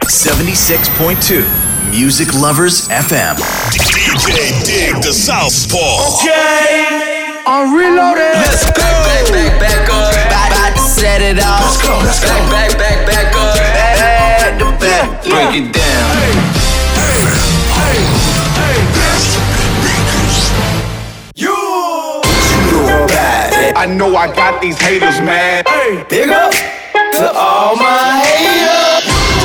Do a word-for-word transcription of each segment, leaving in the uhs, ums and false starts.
seventy-six point two Music Lovers エフエム D J Dig the Southpaw. Okay, I'm reloaded. Let's go. Back, back, back, back up. About, about to set it off. Let's go, let's go. Back, back, back, back up. Back to back. Break it down. Hey, hey, hey, hey. You. I know I got these haters mad. Hey, Big up to all my haters.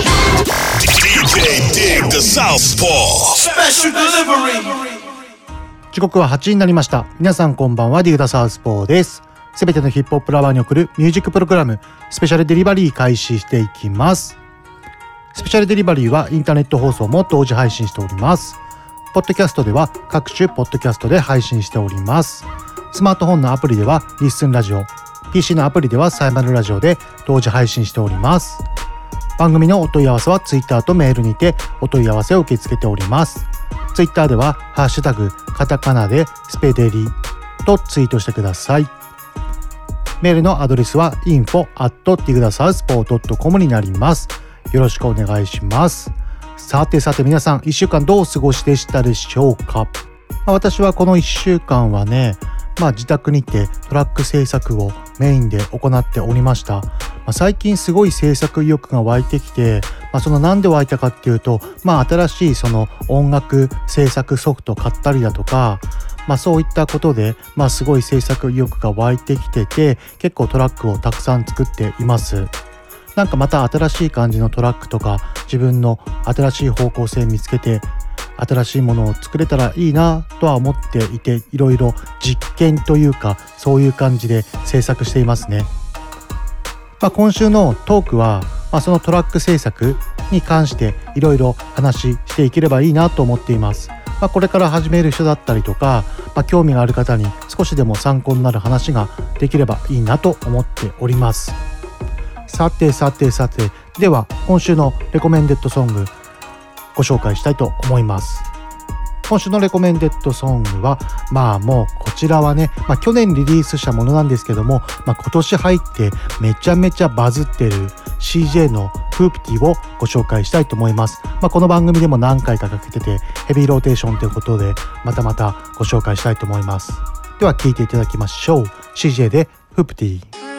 D J Dig the Southpaw. special delivery. 時刻ははちじになりました。皆さんこんばんは、ディグダサウスポーです。すべてのヒップホップラバーに送るミュージックプログラムスペシャルデリバリー開始していきます。スペシャルデリバリーはインターネット放送も同時配信しております。ポッドキャストでは各種ポッドキャストで配信しております。スマートフォンのアプリではリッスンラジオ、 ピーシー のアプリではサイマルラジオで同時配信しております。番組のお問い合わせはツイッターとメールにてお問い合わせを受け付けております。ツイッターではハッシュタグカタカナでスペデリとツイートしてください。メールのアドレスは インフォ アット ディグダサウスポー ドットコム になります。よろしくお願いします。さてさて皆さんいっしゅうかんどうお過ごしでしたでしょうか。まあ、私はこのいっしゅうかんはね、まあ、自宅にてトラック制作をメインで行っておりました。まあ、最近すごい制作意欲が湧いてきて、まあ、そのなんで湧いたかっていうと、まあ、新しいその音楽制作ソフト買ったりだとか、まあ、そういったことで、まあ、すごい制作意欲が湧いてきてて、結構トラックをたくさん作っています。なんかまた新しい感じのトラックとか自分の新しい方向性見つけて新しいものを作れたらいいなとは思っていて、いろいろ実験というかそういう感じで制作していますね。まあ、今週のトークは、まあ、そのトラック制作に関していろいろ話していければいいなと思っています。まあ、これから始める人だったりとか、まあ、興味がある方に少しでも参考になる話ができればいいなと思っております。さてさてさて、では今週のレコメンデッドソングご紹介したいと思います。今週のレコメンデッドソングは、まあもうこちらはね、まあ、去年リリースしたものなんですけども、まあ、今年入ってめちゃめちゃバズってる シージェー のフープティをご紹介したいと思います。まあ、この番組でも何回かかけててヘビーローテーションということでまたまたご紹介したいと思います。では聴いていただきましょう。 シージェー でフープティ。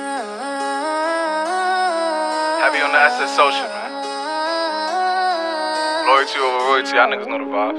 Happy on the asset social, man. Loyalty over royalty, y'all niggas know the vibes.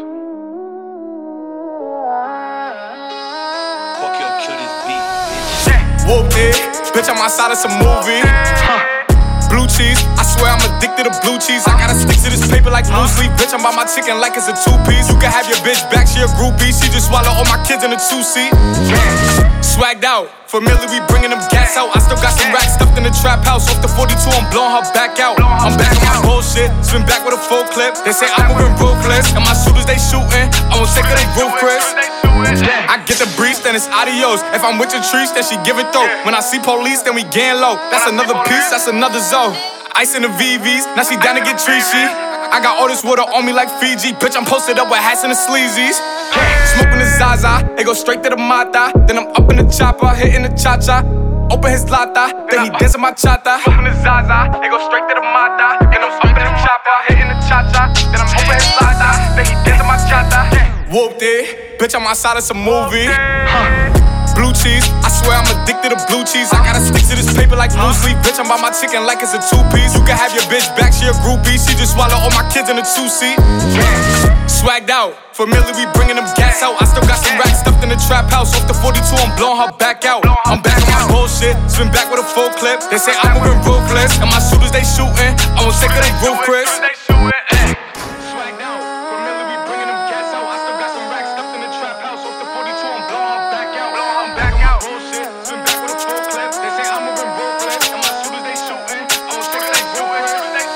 Fuck your kill this beat. Whooped it, bitch. I'm outside of some movie. Huh. Blue cheese, I swear I'm addicted to blue cheese. I gotta stick to this paper like blue sleep. Bitch, I'm by my chicken like it's a two-piece. You can have your bitch back, she a groupie. She just swallow all my kids in a two-seat. Swagged out, familiar, we bringing them gas out. I still got some racks stuffed in the trap house. Off the forty-two, I'm blowing her back out. I'm back on my bullshit, spin back with a full clip. They say I'm moving ruthless, and my shooters they shooting. I'm gonna take her they roof, Chris. I get the breeze, then it's adios. If I'm with your trees, then she give it though. When I see police, then we gang low. That's another piece, that's another zone. Ice in the V Vs, now she down to get treachy. I got all this water on me like Fiji. Bitch, I'm posted up with hats and the sleazies. Smoking the Zaza, it go straight to the Mata. Then I'm up in the chopper, hitting the cha-cha. Open his lata, then he dancing my chata. Smoking the Zaza, it go straight to the Mata. Then I'm up in the chopper, hitting the cha-cha. Then I'm open his lata, then he dancing my chata. Whooped it, bitch, I'm outside of some movie. Huh. Blue cheese, I swear I'm addicted to blue cheese. I gotta stick to this paper like blue sleep. Bitch, I'm by my chicken like it's a two-piece. You can have your bitch back, she a groupie. She just swallow all my kids in a two-seat. Swagged out, familiar, we bringing them gas out. I still got some racks stuffed in the trap house. Off the forty-two, I'm blowing her back out. I'm back on my bullshit, spin back with a full clip. They say I'm moving ruthless, and my shooters they shooting. I'm gonna take her they roof, Chris. Swagged out, familiar, we bringing them gas out. I still got some racks stuffed in the trap house. Off the forty-two, I'm blowing her back out. I'm back on my bullshit, spin back with a full clip. They say I'm moving ruthless, and my shooters they shooting. I'm gonna take her they roof, Chris.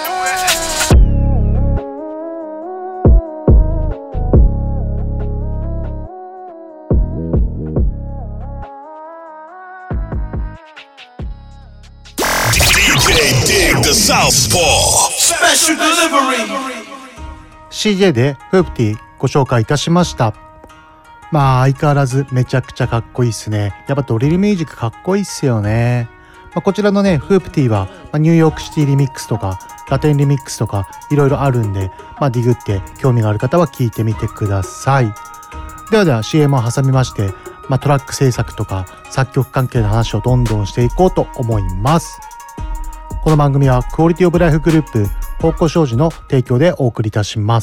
D J Dig the Southpaw. special delivery. シージェー でフープティご紹介いたしました。まあ相変わらずめちゃくちゃかっこいいっすね。やっぱドリルミュージックかっこいいっすよね。まあ、こちらのねフープティは、まあ、ニューヨークシティリミックスとかラテンリミックスとかいろいろあるんで、まあ、ディグって興味がある方は聞いてみてください。ではでは シーエム を挟みまして、まあ、トラック制作とか作曲関係の話をどんどんしていこうと思います。この番組はクオリティオブライフグループ方向商事の提供でお送りいたします。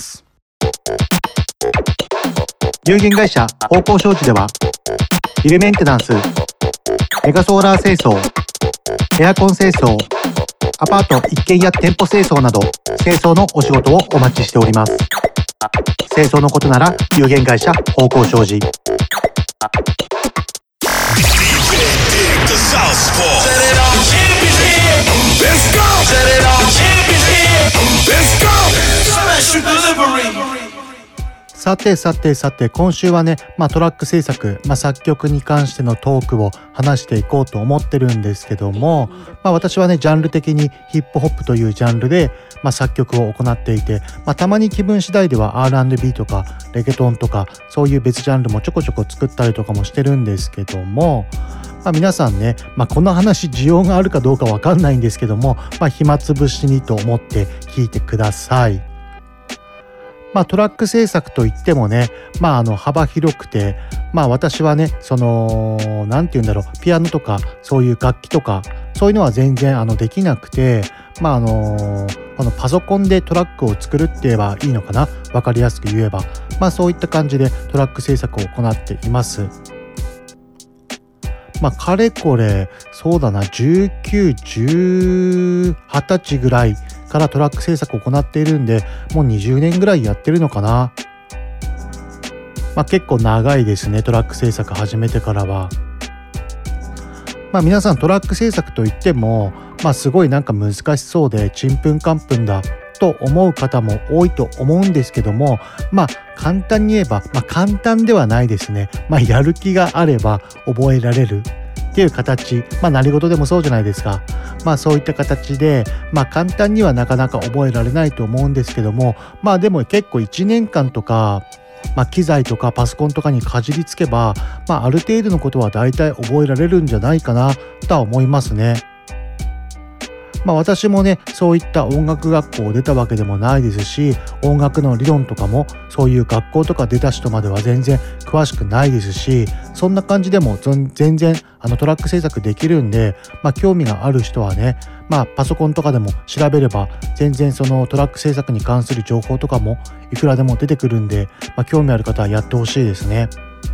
有限会社方向商事ではビルメンテナンス、メガソーラー清掃、エアコン清掃、アパート一軒家店舗清掃など清掃のお仕事をお待ちしております。清掃のことなら有限会社方向商事。さてさてさて今週はね、まあ、トラック制作、まあ、作曲に関してのトークを話していこうと思ってるんですけども、まあ、私はねジャンル的にヒップホップというジャンルで、まあ、作曲を行っていて、まあ、たまに気分次第では アールアンドビー とかレゲトンとかそういう別ジャンルもちょこちょこ作ったりとかもしてるんですけども、まあ、皆さんね、まあ、この話需要があるかどうかわかんないんですけども、まあ、暇つぶしにと思って聞いてください。まあ、トラック制作といってもね、まあ、あの幅広くて、まあ、私はねそのなんて言うんだろう、ピアノとかそういう楽器とかそういうのは全然あのできなくて、まああのこのパソコンでトラックを作るって言えばいいのかな、分かりやすく言えば、まあ、そういった感じでトラック制作を行っています。まあ、かれこれそうだなじゅうきゅう、じゅう、はたちぐらいからトラック制作を行っているんで、もうにじゅうねんぐらいやってるのかな。まあ、結構長いですね、トラック制作始めてからは。まあ、皆さんトラック制作といっても、まあ、すごいなんか難しそうでちんぷんかんぷんだと思う方も多いと思うんですけども、まあ簡単に言えば、まあ、簡単ではないですね。まあ、やる気があれば覚えられるっていう形、まあ何事でもそうじゃないですか。まあそういった形で、まあ簡単にはなかなか覚えられないと思うんですけども、まあでも結構いちねんかんとか、まあ、機材とかパソコンとかにかじりつけば、まあある程度のことは大体覚えられるんじゃないかなとは思いますね。まあ、私もねそういった音楽学校を出たわけでもないですし、音楽の理論とかもそういう学校とか出た人までは全然詳しくないですし、そんな感じでも全然あのトラック制作できるんで、まあ、興味がある人はね、まあ、パソコンとかでも調べれば全然そのトラック制作に関する情報とかもいくらでも出てくるんで、まあ、興味ある方はやってほしいですね。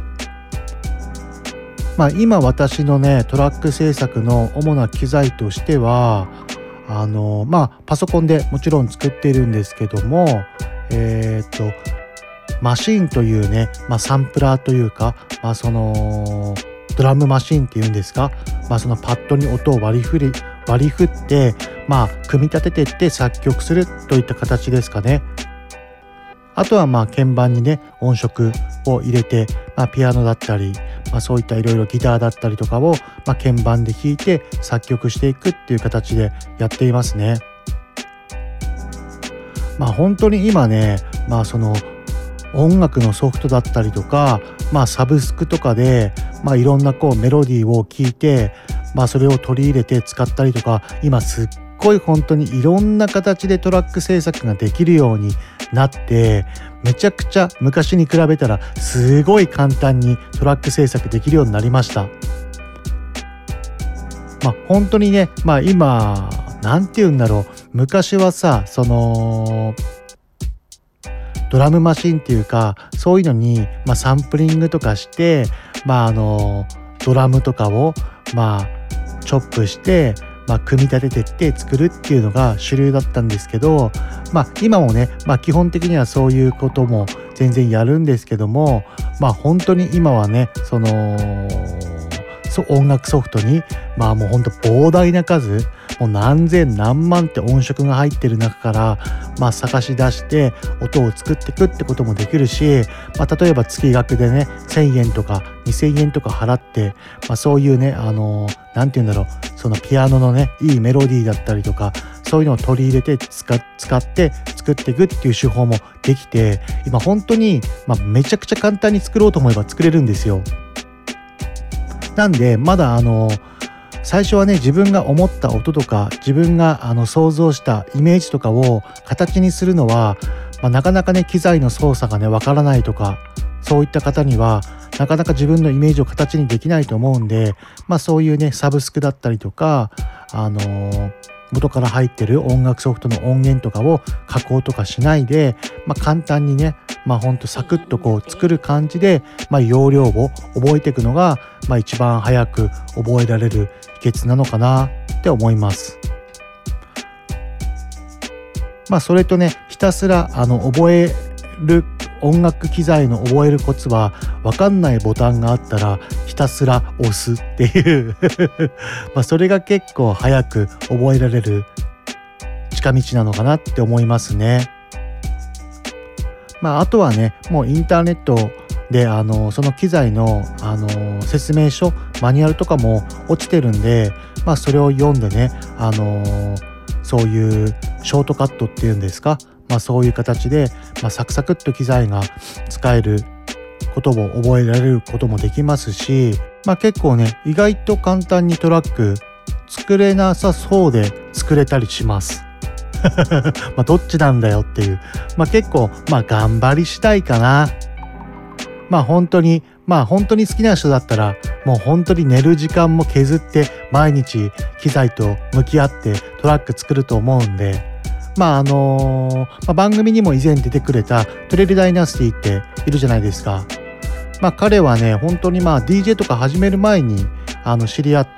まあ、今私のねトラック制作の主な機材としてはあのまあパソコンでもちろん作っているんですけども、えっとマシンというね、まあ、サンプラーというか、まあ、そのドラムマシンっていうんですか、まあ、そのパッドに音を割り振り割り振って、まあ、組み立てていって作曲するといった形ですかね。あとはまあ鍵盤にね音色を入れて、まあ、ピアノだったり、まあ、そういったいろいろギターだったりとかを、まあ、鍵盤で弾いて作曲していくっていう形でやっていますね。まあ本当に今ね、まあその音楽のソフトだったりとか、まあサブスクとかで、まあいろんなこうメロディーを聴いて、まあそれを取り入れて使ったりとか、今すっごい本当にいろんな形でトラック制作ができるようになって、めちゃくちゃ昔に比べたらすごい簡単にトラック制作できるようになりました。まあ本当にね、まあ今なんて言うんだろう、昔はさ、そのドラムマシンっていうかそういうのに、まあ、サンプリングとかして、まああのドラムとかをまあチョップして、まあ、組み立ててって作るっていうのが主流だったんですけど、まあ今もね、まあ基本的にはそういうことも全然やるんですけども、まあ本当に今はね、その音楽ソフトにまあもうほんと膨大な数、もう何千何万って音色が入ってる中からまあ探し出して音を作っていくってこともできるし、まあ例えば月額でねせんえんとかにせんえんとか払って、まあそういうねあのなんて言うんだろう、そのピアノのねいいメロディーだったりとかそういうのを取り入れて使使って作っていくっていう手法もできて、今本当にまあめちゃくちゃ簡単に作ろうと思えば作れるんですよ。なんでまだあの最初はね自分が思った音とか自分があの想像したイメージとかを形にするのは、まあ、なかなかね機材の操作がねわからないとかそういった方にはなかなか自分のイメージを形にできないと思うんで、まあそういうねサブスクだったりとかあのー、元から入ってる音楽ソフトの音源とかを加工とかしないで、まあ簡単にねまあほんとサクッとこう作る感じで、まあ要領を覚えていくのがまあ一番早く覚えられる秘訣なのかなって思います。まあそれとねひたすらあの覚える音楽機材の覚えるコツは分かんないボタンがあったらひたすら押すっていうまあそれが結構早く覚えられる近道なのかなって思いますね。まああとはねもうインターネットであのその機材のあの説明書マニュアルとかも落ちてるんで、まあそれを読んでねあのそういうショートカットっていうんですか、まあ、そういう形で、まあ、サクサクっと機材が使えることを覚えられることもできますし、まあ、結構ね意外と簡単にトラック作れなさそうで作れたりしますまあどっちなんだよっていう、まあ、結構まあ頑張りしたいかな。まあ本当にまあ本当に好きな人だったらもう本当に寝る時間も削って毎日機材と向き合ってトラック作ると思うんで、まああのーまあ、番組にも以前出てくれたトレイルダイナスティっているじゃないですか。まあ彼はね本当にまあ ディージェー とか始める前にあの知り合って、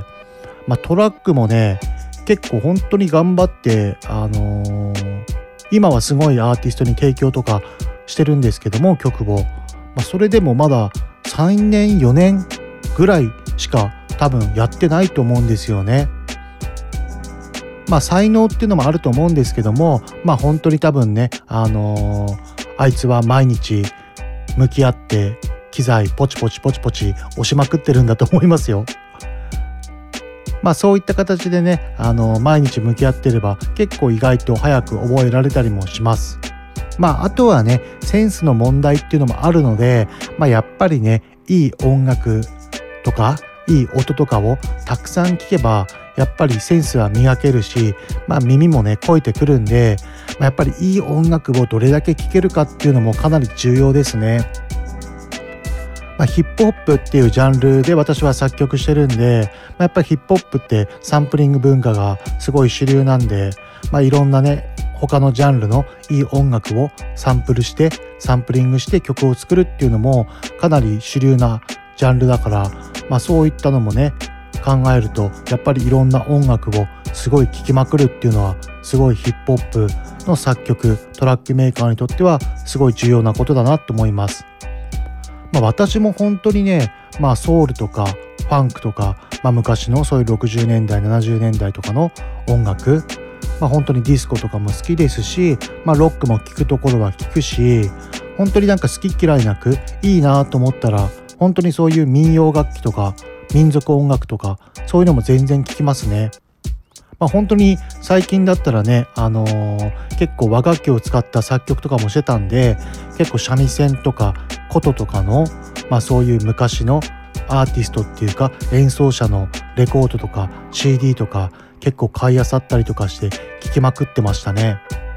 まあ、トラックもね結構本当に頑張ってあのー、今はすごいアーティストに提供とかしてるんですけども曲を、まあ、それでもまださんねんよねんぐらいしか多分やってないと思うんですよね。まあ才能っていうのもあると思うんですけども、まあ本当に多分ねあのー、あいつは毎日向き合って機材ポチポチポチポチ押しまくってるんだと思いますよ。まあそういった形でねあのー、毎日向き合ってれば結構意外と早く覚えられたりもします。まああとはねセンスの問題っていうのもあるので、まあやっぱりねいい音楽とかいい音とかをたくさん聴けばやっぱりセンスは磨けるし、まあ耳もね肥えてくるんで、まあ、やっぱりいい音楽をどれだけ聴けるかっていうのもかなり重要ですね。まあ、ヒップホップっていうジャンルで私は作曲してるんで、まあ、やっぱりヒップホップってサンプリング文化がすごい主流なんで、まあ、いろんなね他のジャンルのいい音楽をサンプルしてサンプリングして曲を作るっていうのもかなり主流なジャンルだから、まあ、そういったのもね考えるとやっぱりいろんな音楽をすごい聴きまくるっていうのはすごいヒップホップの作曲トラックメーカーにとってはすごい重要なことだなと思います。まあ、私も本当にね、まあ、ソウルとかファンクとか、まあ、昔のそういうろくじゅうねんだいななじゅうねんだいとかの音楽、まあ、本当にディスコとかも好きですし、まあ、ロックも聴くところは聴くし、本当になんか好き嫌いなくいいなと思ったら本当にそういう民謡楽器とか民族音楽とかそういうのも全然聴きますね。まあ、本当に最近だったらね、あのー、結構和楽器を使った作曲とかもしてたんで、結構三味線とか琴とかの、まあ、そういう昔のアーティストっていうか演奏者のレコードとか シーディー とか結構買い漁ったりとかして聴きまくってましたね。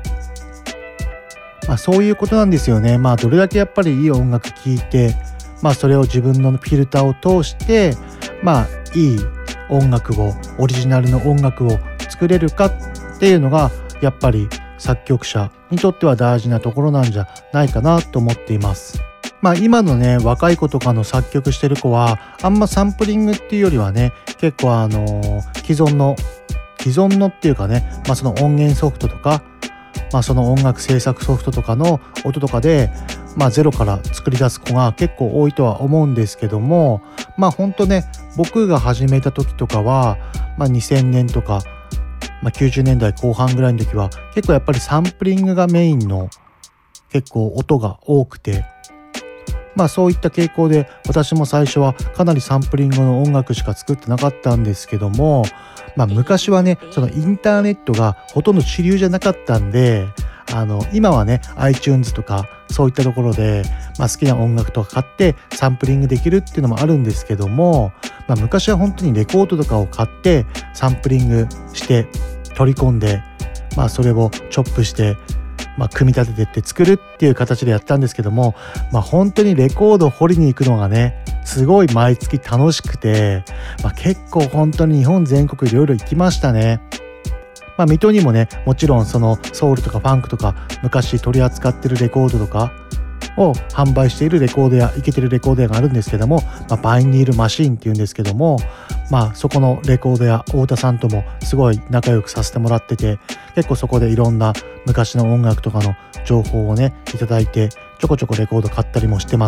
まあ、そういうことなんですよね。まあどれだけやっぱりいい音楽聴いて、まあそれを自分のフィルターを通してまあいい音楽をオリジナルの音楽を作れるかっていうのがやっぱり作曲者にとっては大事なところなんじゃないかなと思っています。まあ今のね若い子とかの作曲してる子はあんまサンプリングっていうよりはね結構あの既存の既存のっていうかね、まあその音源ソフトとかまあその音楽制作ソフトとかの音とかでまあゼロから作り出す子が結構多いとは思うんですけども、まあほんとね僕が始めた時とかはまあにせんねんとかまあ、きゅうじゅうねんだいこう半ぐらいの時は結構やっぱりサンプリングがメインの結構音が多くて、まあそういった傾向で私も最初はかなりサンプリングの音楽しか作ってなかったんですけども、まあ昔はねそのインターネットがほとんど主流じゃなかったんで、 あの今はね iTunes とかそういったところで、まあ、好きな音楽とか買ってサンプリングできるっていうのもあるんですけども、まあ、昔は本当にレコードとかを買ってサンプリングして取り込んで、まあ、それをチョップして、まあ、組み立ててって作るっていう形でやったんですけども、まあ、本当にレコードを掘りに行くのがねすごい毎月楽しくて、まあ、結構本当に日本全国いろいろ行きましたね。まあ、水戸にもねもちろんそのソウルとかファンクとか昔取り扱ってるレコードとかを販売しているレコード屋イケてるレコード屋があるんですけども、まあ、バイニールマシーンっていうんですけども、まあそこのレコード屋太田さんともすごい仲良くさせてもらってて、結構そこでいろんな昔の音楽とかの情報をねいただいてちょこちょこレコード買ったりもしてます。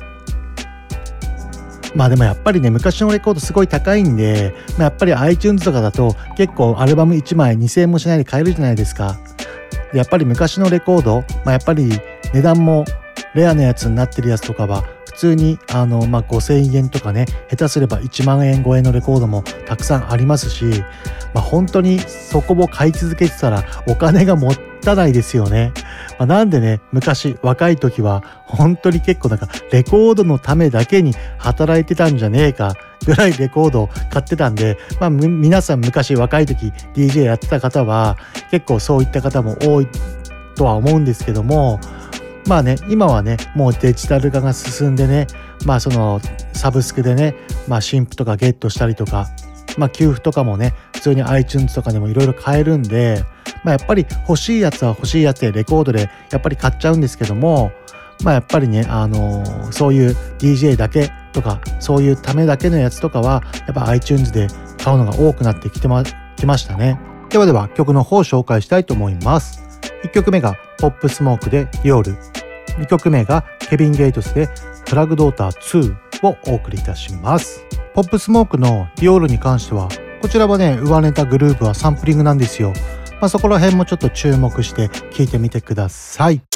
まあでもやっぱりね昔のレコードすごい高いんで、まあ、やっぱり iTunes とかだと結構アルバムいちまいにせんえんもしないで買えるじゃないですか。でやっぱり昔のレコード、まあ、やっぱり値段もレアなやつになってるやつとかは普通にあの、まあ、ごせんえんとかね下手すればいちまんえん超えのレコードもたくさんありますし、まあ、本当にそこを買い続けてたらお金がもったいないですよね。まあ、なんでね昔若い時は本当に結構なんかレコードのためだけに働いてたんじゃねえかぐらいレコードを買ってたんで、まあ皆さん昔若い時 ディージェー やってた方は結構そういった方も多いとは思うんですけども、まあね今はねもうデジタル化が進んでね、まあそのサブスクでねまあ新譜とかゲットしたりとか、まあ給付とかもね普通に iTunes とかでもいろいろ買えるんで、まあやっぱり欲しいやつは欲しいやつでレコードでやっぱり買っちゃうんですけども、まあやっぱりねあのー、そういう ディージェー だけとかそういうためだけのやつとかはやっぱ iTunes で買うのが多くなってきてまきましたね。ではでは曲の方を紹介したいと思います。いっきょくめがポップスモークでディオール、にきょくめがケビン・ゲイトスでプラグドーターツーをお送りいたします。ポップスモークのディオールに関してはこちらはね上ネタグループはサンプリングなんですよ。まあ、そこら辺もちょっと注目して聴いてみてください。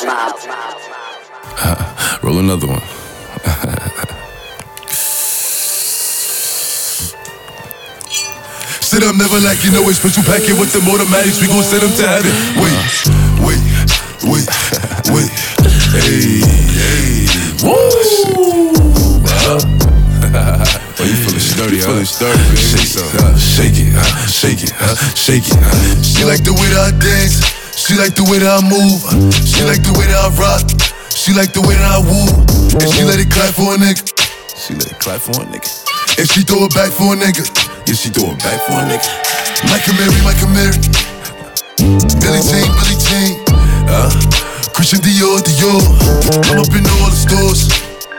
Roll another one. Sit up, never like you know it's special packet with them automatics. We gon' send them to heaven. Wait, wait, wait, wait. Hey, hey, woo. Oh, you feelin' sturdy, huh? Sturdy, baby. Shake it, uh, shake it, uh, shake it, uh, shake it. Uh. She like the way that I dance. She like the way that I move. She like the way that I rock. She like the way that I woo. And she let it clap for a nigga. She let it clap for a nigga. And she throw it back for a nigga. Yeah, she throw it back for a nigga. Micah Mary, Micah Mary. Billie Jean, Billie Jean. Uh, Christian Dior, Dior. I'm up in all the stores.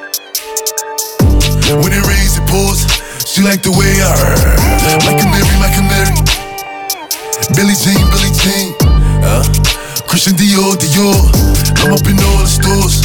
When it rains, it pours. She like the way I heard. Micah Mary, Micah Mary. Billie Jean, Billie Jean. Uh, Christian Dior, Dior. I'm up in all the stores.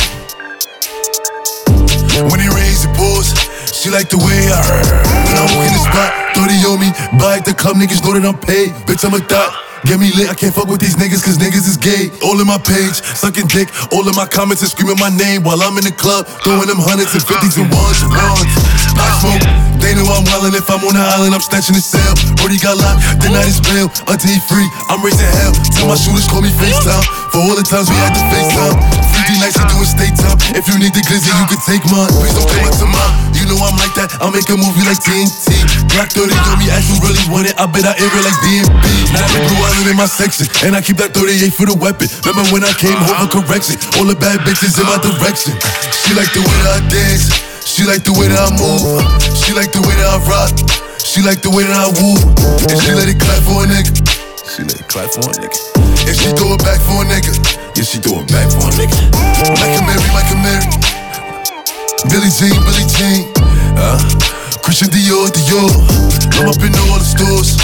When it rains, it pours. She like the way I heard. When I walk in the spot, thirty on me. Buy at the club, niggas know that I'm paid. Bitch, I'm a thot. Get me lit, I can't fuck with these niggas cause niggas is gay. All in my page, sucking dick. All in my comments and screaming my name while I'm in the club, throwing them hundreds and fifties and ones and ones. I smoke, they know I'm wildin'. If I'm on the island, I'm snatching the cell. Brody got locked, the night is bail. Until he free, I'm raising hell. Tell my shooters call me FaceTime. For all the times we had to FaceTime. three D nights, you doing state time. If you need the glizzy, you can take mine. Please don't come up to mine. You know I'm like that, I'll make a movie like T N T. Glock thirty on me, ask you really want it. I bet I air it like D M B. Now the blue island in my section, and I keep that thirty-eight for the weapon. Remember when I came home for correction? All the bad bitches in my direction. She like the way that I dance. She like the way that I move. She like the way that I rock. She like the way that I woo. And she let it clap for a nigga. She let it clap for a nigga. And she throw it back for a nigga. Yeah, she throw it back for a nigga. Micah Mary, Micah Mary. Billie Jean, Billie Jean. Uh, Christian Dior, Dior. I'm up in all the stores.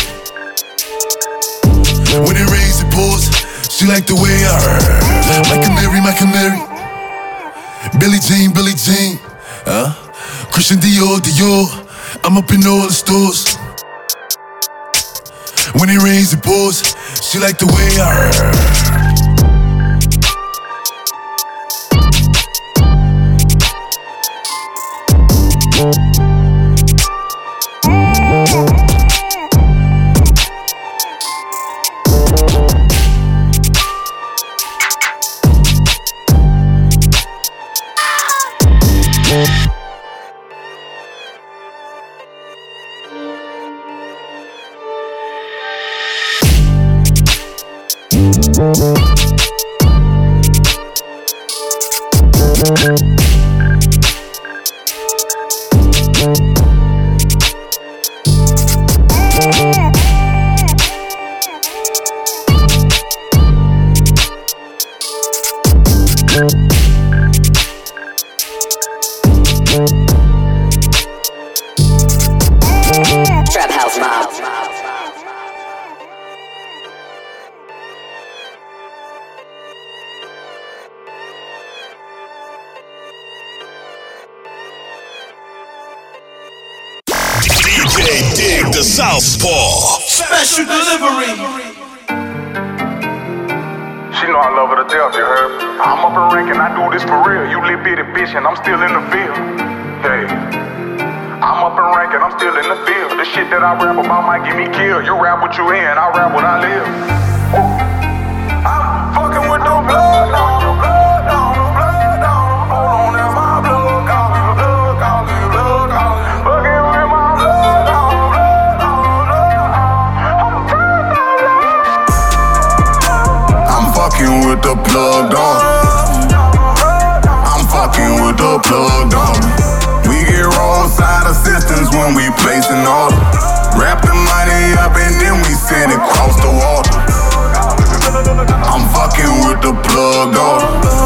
When it rains, it pours. She like the way I heard. Micah Mary, Micah Mary. Billie Jean, Billie Jean. Uh, Christian Dior, Dior. I'm up in all the stores. When it rains, it pours. She like the way I heard. Trap House Mob. D J Dig the Southpaw. Special delivery. She know I love her to death, you heard? I'm up and ranking, I do this for real. You little bitty bitch and I'm still in the field. Hey, I'm up and ranking, I'm still in the field. The shit that I rap about might get me killed. You rap what you in, I rap what I live. I'm fucking with the blood on the blood on the blood on. Hold on, that's my blood calling, blood calling, blood calling. Fucking with my blood on the blood on the blood on. I'm fucking with the plug dog. I'm fucking with the plug dog. We get roadside assistance when we place an order. Wrap the money up and then we send it across the water. I'm fucking with the plug dog.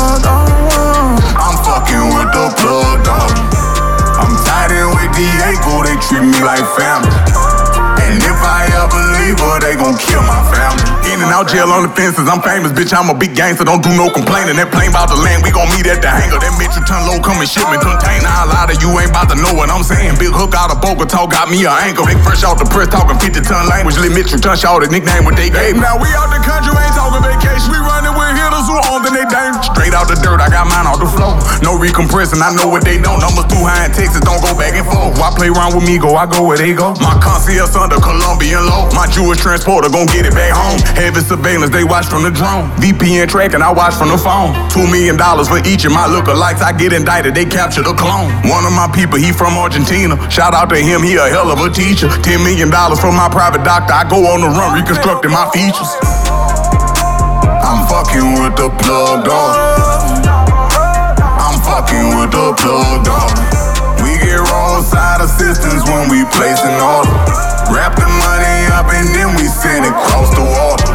I'm fucking with the plug dog. I'm tied in with Diego, they treat me like family. And if I ever leave her, they gon' kill my family. In and out jail on the fences, I'm famous, bitch, I'm a big gangster, don't do no complaining. That plane bout to land, we gon' meet at the hangar. That Mitchell ton low coming shipment container. A lot of you ain't bout to know what I'm saying. Big hook out of Bogota got me an anchor. They fresh out the press talking fifty ton language. Lit Mitchell ton shot the nickname what they gave. Now we out the country, ain't talking vacation. We running with hitters who on, then they dangerous. Straight out the dirt, I got mine off the floor. No recompressing, I know what they don't. Numbers too high in Texas, don't go back and forth. Why play around with me, go, I go where they go. My concierge under Colombian law. My Jewish transporter gon' get it back home. Heavy surveillance, they watch from the drone. V P N tracking, I watch from the phone. Two million dollars for each of my lookalikes. I get indicted, they capture the clone. One of my people, he from Argentina. Shout out to him, he a hell of a teacher. Ten million dollars for my private doctor. I go on the run, reconstructing my features. I'm fucking with the plug dog. I'm fucking with the plug dog. We get roadside assistance when we place an order. Wrap the money up and then we send it across the water.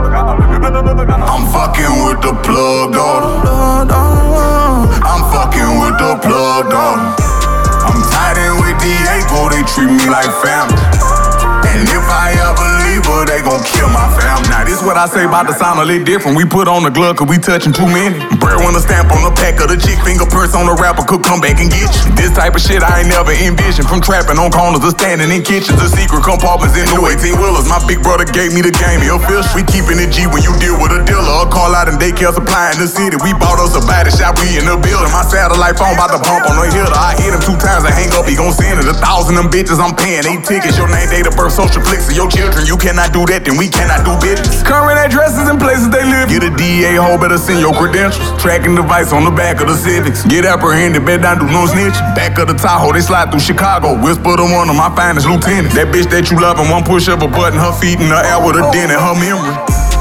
I'm fucking with the plug dog. I'm fucking with the plug dog. I'm tied in with Diego, they treat me like family. And if I ever leave her, they gon' kill my family. Now this what I say about the sound a little different. We put on the glove cause we touching too many. Breadwinner stamp on the pack of the chick. Fingerprints on the rapper could come back and get you. This type of shit I ain't never envisioned. From trapping on corners to standing in kitchens. The secret compartments in new eighteen wheelers. My big brother gave me the game, he official. We keeping it G when you deal with a dealer. A call out and daycare supply in the city. We bought us a body shop, we in the building. My satellite phone about to bump on the hitter. I hit him two times and hang up, he gon' send it. A thousand them bitches I'm paying, eight tickets. Your name, date of birth, social flicks of your children. You cannot do that, then we cannot do business. Current addresses and places they live. Get a D A hoe, better send your credentials. Tracking device on the back of the Civics. Get apprehended, bet down, do no snitch. Back of the Tahoe, they slide through Chicago. Whisper to one of my finest lieutenants. That bitch that you love and one push up a button, her feet in the air with a dent in her memory.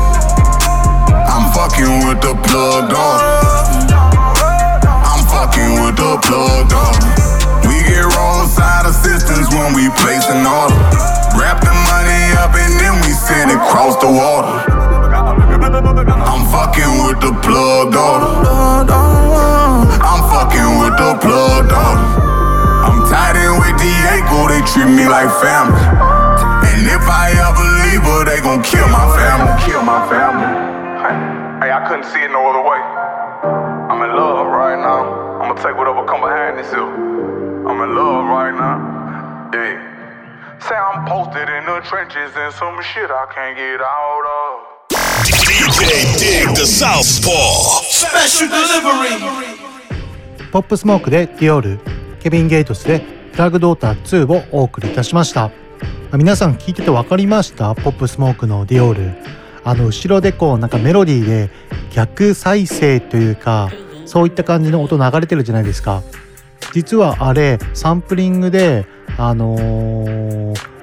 I'm fucking with the plug dog. I'm fucking with the plug dog. We get roadside assistance when we place an order. Wrap the money up and then we send it across the water. I'm fucking with the plug dog. I'm fucking with the plug dog. I'm tied in with Diego, they treat me like family. And if I ever leave her, they gon' kill my family. Kill my family. Hey, I couldn't see it no other way. I'm in love right now. I'ma take whatever come behind this hill. I'm in love right now. Yeah. Say I'm posted in the trenches and some shit I can't get out of. D J Dig the Southpaw. Special delivery. ポップスモークでディオール、ケビン・ゲイトスでフラグドーターツーをお送りいたしました。皆さん聞いてて分かりました？ポップスモークのディオール、あの後ろでこうなんかメロディーで逆再生というかそういった感じの音流れてるじゃないですか。実はあれサンプリングであのー、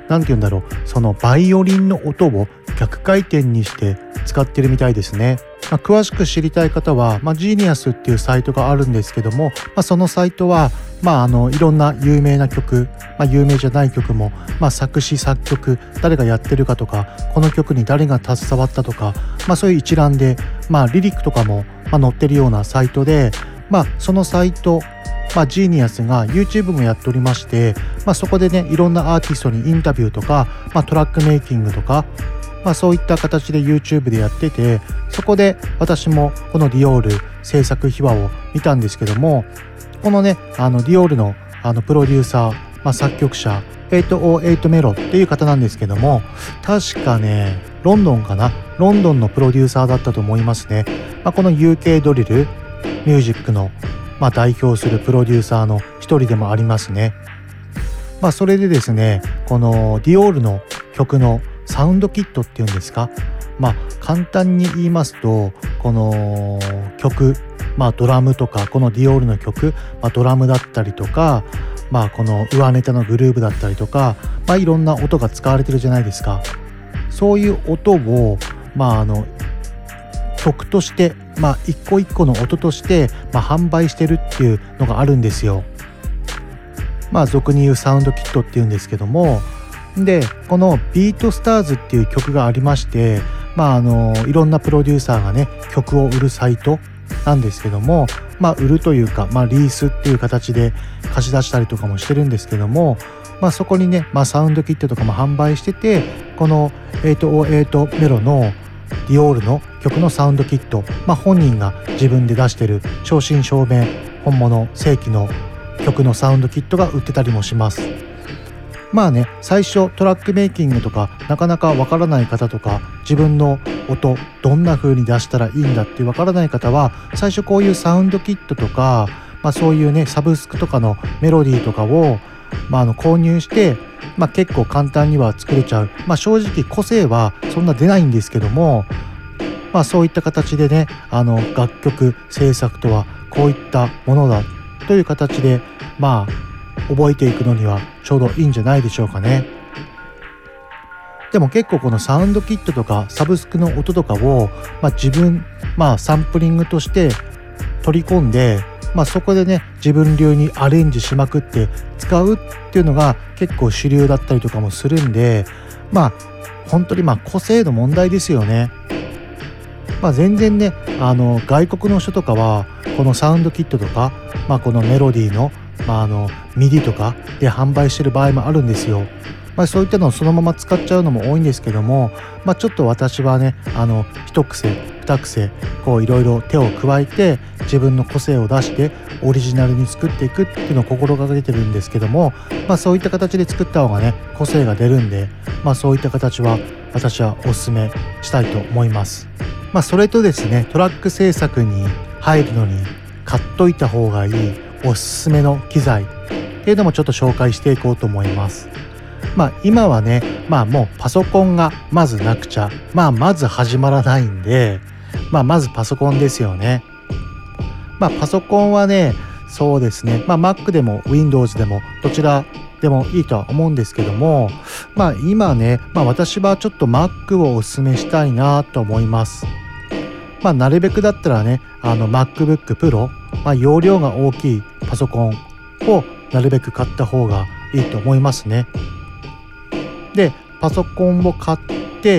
なんて言うんだろう、そのバイオリンの音を逆回転にして使ってるみたいですね。まあ、詳しく知りたい方は、まあ、ジーニアスっていうサイトがあるんですけども、まあ、そのサイトは、まあ、あのいろんな有名な曲、まあ、有名じゃない曲も、まあ、作詞作曲誰がやってるかとか、この曲に誰が携わったとか、まあ、そういう一覧で、まあ、リリックとかも、まあ、載ってるようなサイトで、まあ、そのサイト、まあ、ジーニアスが YouTube もやっておりまして、まあ、そこでねいろんなアーティストにインタビューとか、まあ、トラックメイキングとか、まあ、そういった形で YouTube でやってて、そこで私もこのディオール制作秘話を見たんですけども、このねあのディオールのあのプロデューサー、まあ、作曲者はちまるはちメロっていう方なんですけども、確かねロンドンかなロンドンのプロデューサーだったと思いますね。まあ、この ユーケー ドリルミュージックの、まあ、代表するプロデューサーの一人でもありますね。まあ、それでですね、このディオールの曲のサウンドキットっていうんですか、まあ簡単に言いますと、この曲、まあドラムとか、このディオールの曲、まあ、ドラムだったりとか、まあこの上ネタのグルーブだったりとか、まあいろんな音が使われてるじゃないですか。そういう音をまああの曲として、まあ一個一個の音として、まあ、販売してるっていうのがあるんですよ。まあ俗に言うサウンドキットっていうんですけども、でこのビートスターズっていう曲がありまして、まああのいろんなプロデューサーがね曲を売るサイトなんですけども、まあ売るというか、まあリースっていう形で貸し出したりとかもしてるんですけども、まあそこにね、まあサウンドキットとかも販売してて、このはちまるはちメロのディオールの曲のサウンドキット、まあ本人が自分で出してる正真正銘本物正規の曲のサウンドキットが売ってたりもします。まあね、最初トラックメイキングとかなかなかわからない方とか、自分の音どんな風に出したらいいんだってわからない方は、最初こういうサウンドキットとか、まあ、そういうねサブスクとかのメロディーとかを、まあ、あの購入して、まあ、結構簡単には作れちゃう。まあ正直個性はそんな出ないんですけども、まあそういった形でね、あの楽曲制作とはこういったものだという形で、まあ覚えていくのにはちょうどいいんじゃないでしょうかね。でも結構このサウンドキットとかサブスクの音とかを、まあ、自分、まあ、サンプリングとして取り込んで、まあ、そこでね自分流にアレンジしまくって使うっていうのが結構主流だったりとかもするんで、まあ本当にまあ個性の問題ですよね。まあ、全然ねあの外国の人とかはこのサウンドキットとか、まあ、このメロディーのまあ、あのミディとかで販売してる場合もあるんですよ。まあ、そういったのをそのまま使っちゃうのも多いんですけども、まあ、ちょっと私はねあの一癖二癖こういろいろ手を加えて自分の個性を出してオリジナルに作っていくっていうのを心がけてるんですけども、まあ、そういった形で作った方がね個性が出るんで、まあ、そういった形は私はおすすめしたいと思います。まあ、それとですね、トラック制作に入るのに買っといた方がいいおすすめの機材っていうのもちょっと紹介していこうと思います。まあ今はね、まあもうパソコンがまずなくちゃ、まあまず始まらないんで、まあまずパソコンですよね。まあパソコンはね、そうですね、まあ Mac でも Windows でもどちらでもいいとは思うんですけども、まあ今ね、まあ私はちょっと Mac をおすすめしたいなと思います。まあなるべくだったらね、あの MacBook Pro、まあ容量が大きいパソコンをなるべく買った方がいいと思いますね。で、パソコンを買って、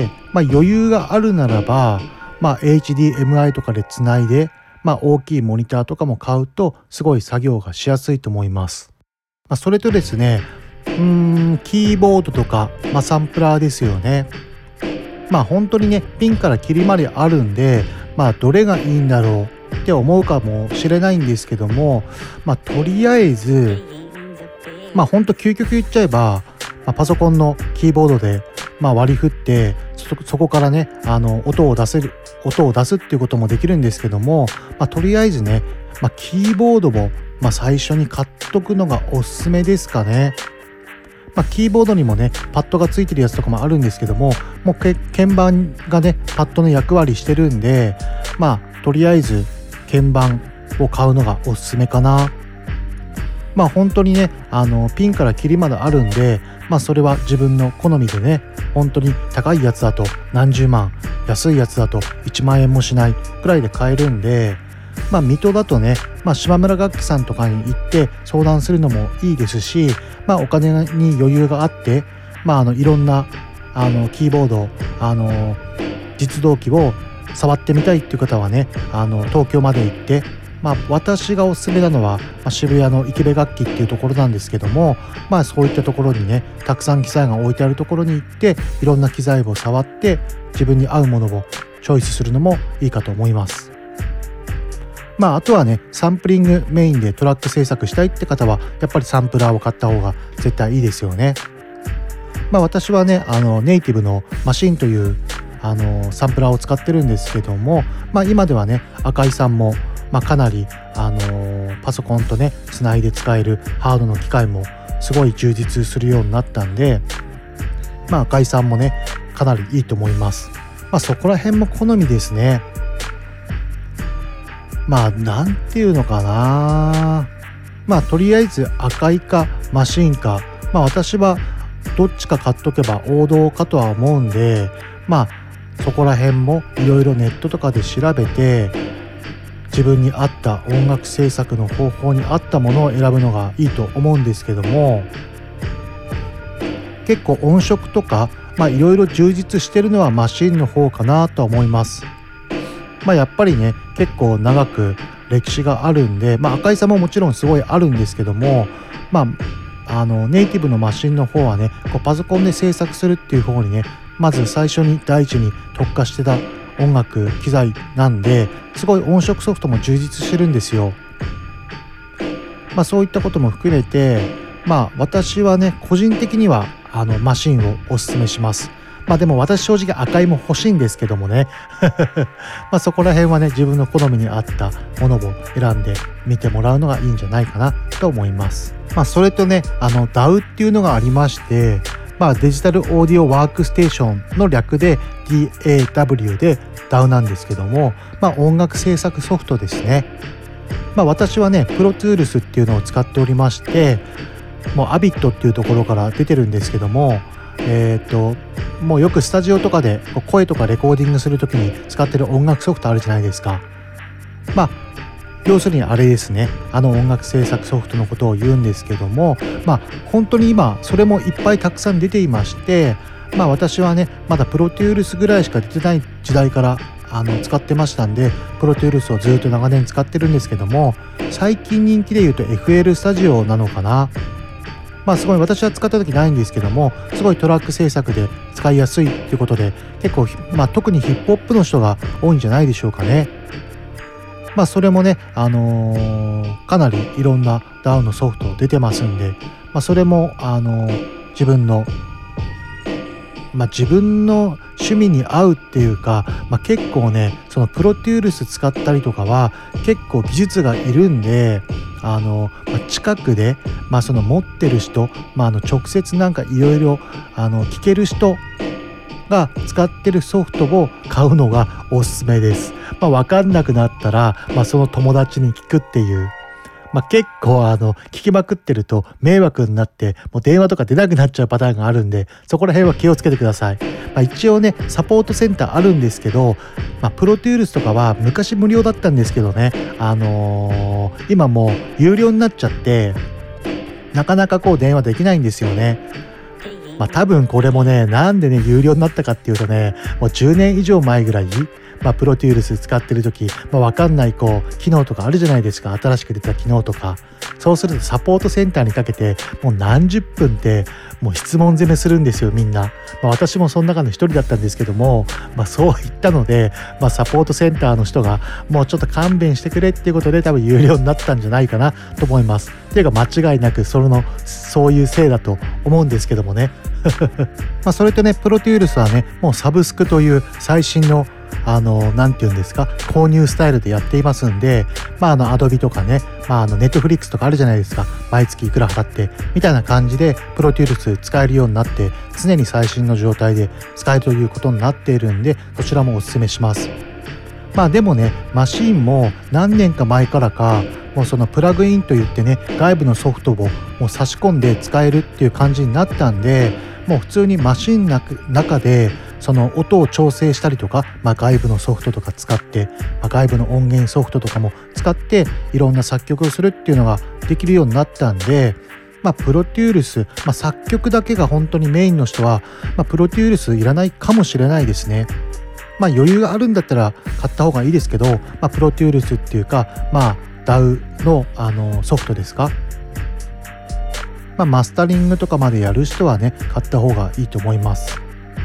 まあ余裕があるならば、まあ エイチディーエムアイ とかでつないで、まあ大きいモニターとかも買うとすごい作業がしやすいと思います。まあ、それとですね、うーん、キーボードとか、まあサンプラーですよね。まあ本当にね、ピンからキリまであるんで、まあどれがいいんだろうって思うかもしれないんですけども、まあとりあえず、まあほんと究極言っちゃえば、まあ、パソコンのキーボードで、まあ、割り振ってそ、そこからねあの音を出せる音を出すっていうこともできるんですけども、まあ、とりあえずね、まあ、キーボードを、まあ、最初に買っとくのがおすすめですかね。まあ、キーボードにもねパッドがついてるやつとかもあるんですけども、もうけ鍵盤がねパッドの役割してるんで、まあとりあえず鍵盤を買うのがおすすめかな。まあ本当にねあのピンからキリまであるんで、 まあそれは自分の好みでね、本当に高いやつだと何十万、安いやつだといちまんえんもしないくらいで買えるんで、まあ水戸だとね、まあ島村楽器さんとかに行って相談するのもいいですし、まあお金に余裕があって、まああのいろんなあのキーボード、あの実動機を触ってみたいっていう方はね、あの東京まで行って、まあ私がおすすめなのは、まあ、渋谷の池部楽器っていうところなんですけども、まあそういったところにね、たくさん機材が置いてあるところに行っていろんな機材を触って自分に合うものをチョイスするのもいいかと思います。まああとはね、サンプリングメインでトラック制作したいって方はやっぱりサンプラーを買った方が絶対いいですよね。まあ私はね、あのネイティブのマシンというあのサンプラーを使ってるんですけども、まあ今ではね、赤井さんもまあかなりあのパソコンとねつないで使えるハードの機械もすごい充実するようになったんで、まあ赤井さんもねかなりいいと思います。まあそこら辺も好みですね。まあなんていうのかな、まあとりあえず赤井かマシンか、まあ私はどっちか買っとけば王道かとは思うんで、まあそこら辺もいろいろネットとかで調べて自分に合った音楽制作の方法に合ったものを選ぶのがいいと思うんですけども、結構音色とかまあいろいろ充実してるのはマシンの方かなと思います。まあやっぱりね結構長く歴史があるんで、まあ赤井さんももちろんすごいあるんですけども、まああのネイティブのマシンの方はね、こうパソコンで制作するっていう方にね、まず最初に第一に特化してた音楽機材なんで、すごい音色ソフトも充実してるんですよ。まあそういったことも含めて、まあ私はね個人的にはあのマシンをおすすめします。まあでも私正直赤いも欲しいんですけどもねまあそこら辺はね自分の好みに合ったものを選んで見てもらうのがいいんじゃないかなと思います。まあそれとね、あの ダウ っていうのがありまして、まあデジタルオーディオワークステーションの略で ディーエーダブリュー で ダウ なんですけども、まあ音楽制作ソフトですね。まあ私はねプロトゥールスっていうのを使っておりまして、もうアビットっていうところから出てるんですけども、えっともうよくスタジオとかで声とかレコーディングするときに使ってる音楽ソフトあるじゃないですか。まあ要するにあれですね、あの音楽制作ソフトのことを言うんですけども、まあ本当に今それもいっぱいたくさん出ていまして、まあ私はねまだプロトゥールスぐらいしか出てない時代からあの使ってましたんで、プロトゥールスをずっと長年使ってるんですけども、最近人気で言うと エフエル スタジオなのかな。まあすごい私は使った時ないんですけども、すごいトラック制作で使いやすいということで、結構まあ特にヒップホップの人が多いんじゃないでしょうかね。まあそれもね、あのー、かなりいろんな ダウ のソフト出てますんで、まあそれもあのー、自分のまあ自分の趣味に合うっていうか、まあ結構ねそのプロトゥールス使ったりとかは結構技術がいるんで、あの、まあ、近くで、まあ、その持ってる人、まあ、あの直接なんかいろいろ聞ける人が使ってるソフトを買うのがおすすめです。まあ、分かんなくなったら、まあ、その友達に聞くっていう、まあ、結構あの聞きまくってると迷惑になってもう電話とか出なくなっちゃうパターンがあるんで、そこら辺は気をつけてください。まあ、一応ねサポートセンターあるんですけど、まあ、プロトゥールスとかは昔無料だったんですけどね、あのー、今もう有料になっちゃってなかなかこう電話できないんですよね。まあ多分これもね、なんでね有料になったかっていうとね、もうじゅうねん以上前ぐらい、まあ、プロトゥールス使ってる時、まあ、分かんないこう機能とかあるじゃないですか。新しく出た機能とか、そうするとサポートセンターにかけてもう何十分ってもう質問攻めするんですよみんな。まあ、私もその中の一人だったんですけども、まあ、そう言ったので、まあ、サポートセンターの人がもうちょっと勘弁してくれっていうことで多分有料になったんじゃないかなと思います。っていうか間違いなくそのそういうせいだと思うんですけどもねまあそれとね、プロトゥールスはねもうサブスクという最新のあのなんていうんですか、購入スタイルでやっていますんで、まああのアドビとかね、まああのネットフリックスとかあるじゃないですか、毎月いくら払ってみたいな感じでプロトゥールス使えるようになって、常に最新の状態で使えるということになっているんで、こちらもおすすめします。 まあでもね、マシンも何年か前からかもうそのプラグインといってね、外部のソフトをもう差し込んで使えるっていう感じになったんで、もう普通にマシンの中でその音を調整したりとか、まあ、外部のソフトとか使って、まあ、外部の音源ソフトとかも使っていろんな作曲をするっていうのができるようになったんで、まあ、プロデュース、まあ、作曲だけが本当にメインの人は、まあ、プロデュースいらないかもしれないですね。まあ余裕があるんだったら買った方がいいですけど、まあ、プロデュースっていうか、まあ ダウ の, あのソフトですか、まあ、マスタリングとかまでやる人はね、買った方がいいと思います。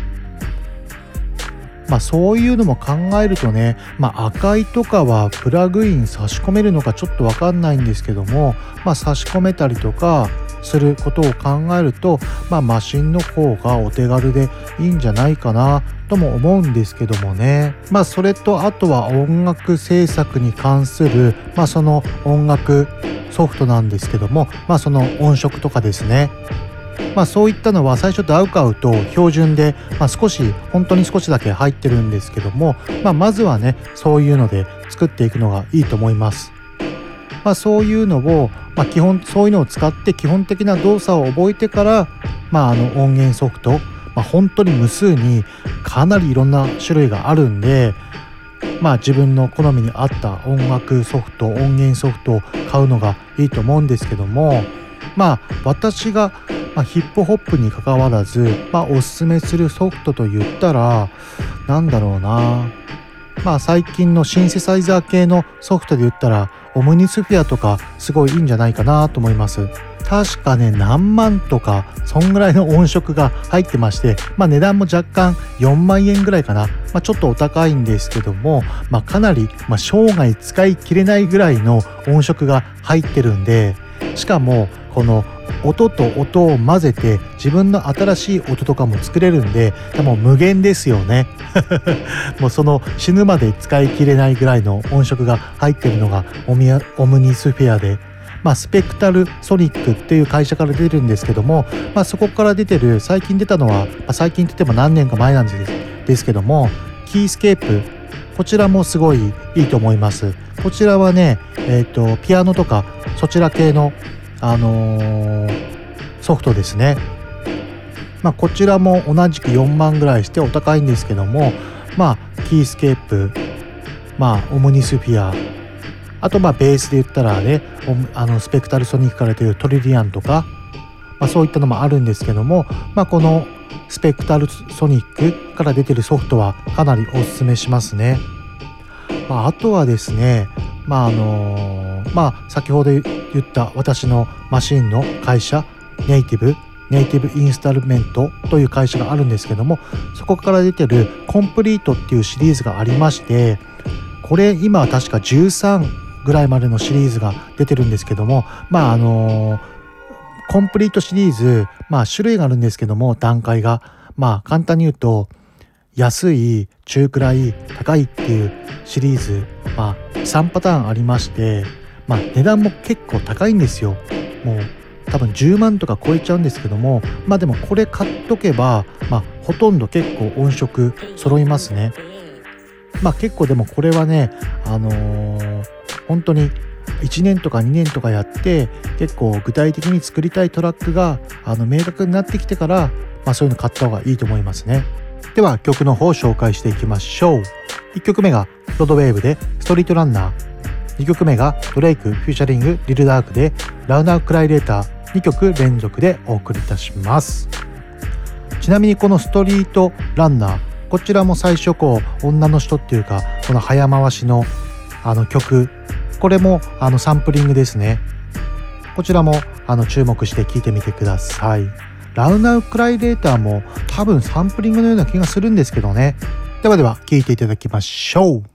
まあそういうのも考えるとね、まあ赤いとかはプラグイン差し込めるのかちょっとわかんないんですけども、まあ差し込めたりとかすることを考えると、まあマシンの方がお手軽でいいんじゃないかなとも思うんですけどもね。まあそれとあとは音楽制作に関する、まあその音楽ソフトなんですけども、まあその音色とかですね。まあそういったのは最初ダウ買うと標準で、まあ、少し本当に少しだけ入ってるんですけども、まあまずはね、そういうので作っていくのがいいと思います。まあそういうのを、まあ基本そういうのを使って基本的な動作を覚えてから、まああの音源ソフト、まあ本当に無数にかなりいろんな種類があるんで、まあ自分の好みに合った音楽ソフト、音源ソフトを買うのがいいと思うんですけども、まあ私がまあ、ヒップホップに関わらず、まあ、おすすめするソフトと言ったらなんだろうな、まあ最近のシンセサイザー系のソフトで言ったらオムニスフィアとかすごいいいんじゃないかなと思います。確かね、何万とかそんぐらいの音色が入ってまして、まあ値段も若干よんまんえんぐらいかな、まあ、ちょっとお高いんですけども、まあかなり、まあ、生涯使い切れないぐらいの音色が入ってるんで、しかもこの音と音を混ぜて自分の新しい音とかも作れるんで、もう無限ですよねもうその死ぬまで使い切れないぐらいの音色が入ってるのがオミアオムニスフィアで、まあ、スペクタルソニックっていう会社から出るんですけども、まあ、そこから出てる最近出たのは、まあ、最近って言っても何年か前なんですですけども、キースケープ、こちらもすごいいいと思います。こちらはね、えっとピアノとかそちら系のあのー、ソフトですね。まあこちらも同じくよんまんぐらいしてお高いんですけども、まあキースケープ、まあオムニスフィア、あとまあベースで言ったらね、あのスペクタルソニックから出るトリリアンとか、まあそういったのもあるんですけども、まあこのスペクタルソニックから出てるソフトはかなりおすすめしますね。まああとはですね、まああのー、まあ先ほど言った私のマシンの会社ネイティブネイティブインスタルメントという会社があるんですけども、そこから出てるコンプリートっていうシリーズがありまして、これ今は確かじゅうさんぐらいまでのシリーズが出てるんですけども、まああのー、コンプリートシリーズ、まあ種類があるんですけども、段階がまあ簡単に言うと安い、中くらい、高いっていうシリーズ、まあさんパターンありまして、まあ値段も結構高いんですよ。もう多分じゅうまんとか超えちゃうんですけども、まあでもこれ買っとけば、まあほとんど結構音色揃いますね。まあ結構でもこれはね、あのー、本当にいちねんとかにねんとかやって結構具体的に作りたいトラックがあの明確になってきてから、まあそういうの買った方がいいと思いますね。では曲の方を紹介していきましょう。いっきょくめがロドウェーブでストリートランナー、にきょくめがドレイクフューチャリングリルダークでラウナークライレーター、にきょく連続でお送りいたします。ちなみにこのストリートランナー、こちらも最初こう女の人っていうかこの早回しのあの曲、これもあのサンプリングですね。こちらもあの注目して聴いてみてください。ラウナークライレーターも多分サンプリングのような気がするんですけどね。ではでは聴いていただきましょう。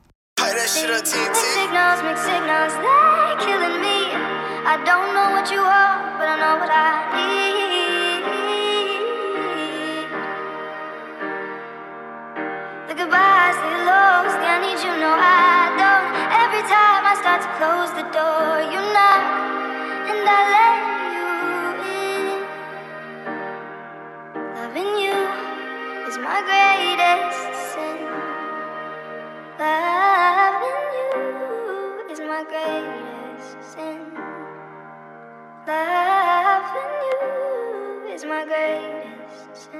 Close the door, you knock, and I let you in. Loving you is my greatest sin. Love greatest sin. Loving you is my greatest sin.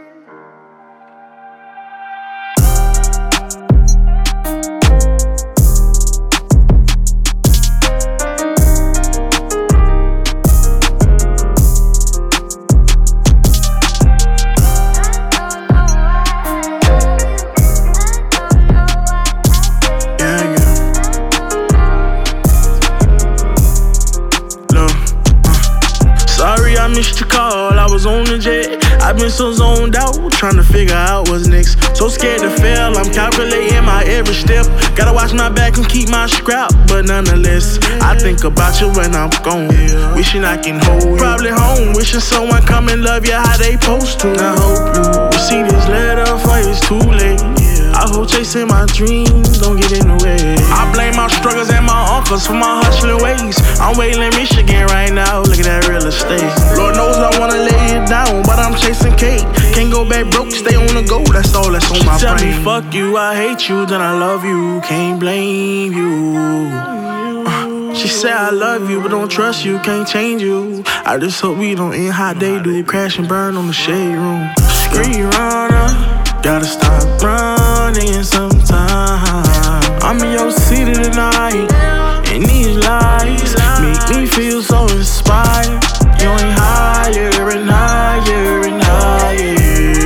I missed your call, I was on the jet. I've been so zoned out, trying to figure out what's next. So scared to fail, I'm calculating my every step. Gotta watch my back and keep my scrap, but nonetheless, I think about you when I'm gone. Wishing I can hold you. Probably home, wishing someone come and love you how they supposed to. I hope you see this letter before it's too late. I hope chasing my dreams don't get in the way. I blame my struggles and my uncles for my hustling ways. I'm waiting in Michigan right now, look at that real estate. Lord knows I wanna lay it down, but I'm chasing cake. Can't go back broke, stay on the go, that's all that's on my brain. She tell me fuck you, I hate you, then I love you, can't blame you. uh, She said I love you, but don't trust you, can't change you. I just hope we don't end how they do, crash and burn on the shade room. Screen runner, gotta stop running sometime. I'm in your city tonight, and these lies make me feel so inspired. You ain't higher and higher and higher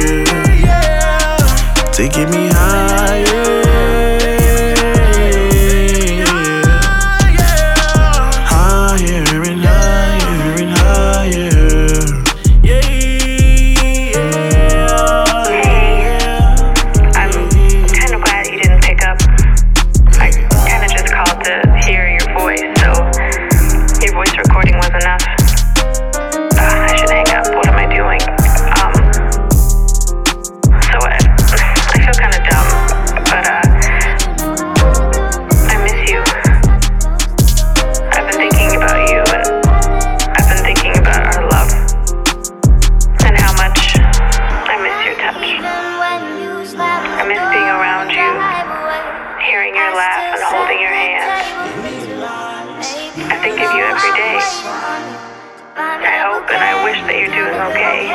to get me higher. Higher and higher and higher. Yeah. I'm kind of glad you didn't pick up. I kind of just called to hear your voice, so your voice recording was enough. Uh, I should hang up. What am I doing? Um, so I, I feel kind of dumb, but uh, I miss you. I've been thinking about you, and I've been thinking about our love, and how much I miss your touch. I miss being around you, hearing your laugh and holding your hand. I think of you every day. I hope and I wish that you're doing okay.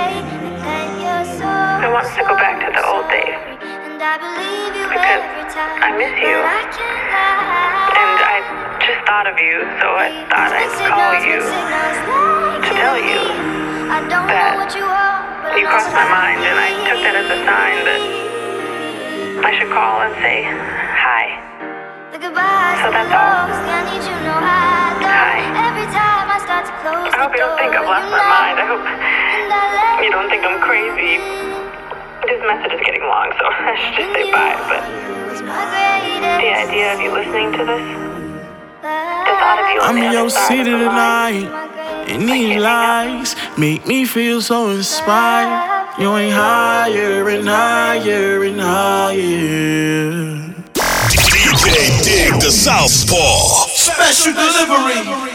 I want to go back to the old days because I miss you, and I just thought of you, so I thought I'd call you to tell you that you crossed my mind, and I took that as a sign that I should call and say hi. So that's all. Hi. I hope you don't think I've lost my mind. I hope you don't think I'm crazy. This message is getting long, so I should just say bye. But the idea of you listening to this, the thought of you on I'm the in other your side city of the line, tonight, and these lies make me feel so inspired. You ain't higher and higher and higher. D J Dig the Southpaw. Special delivery.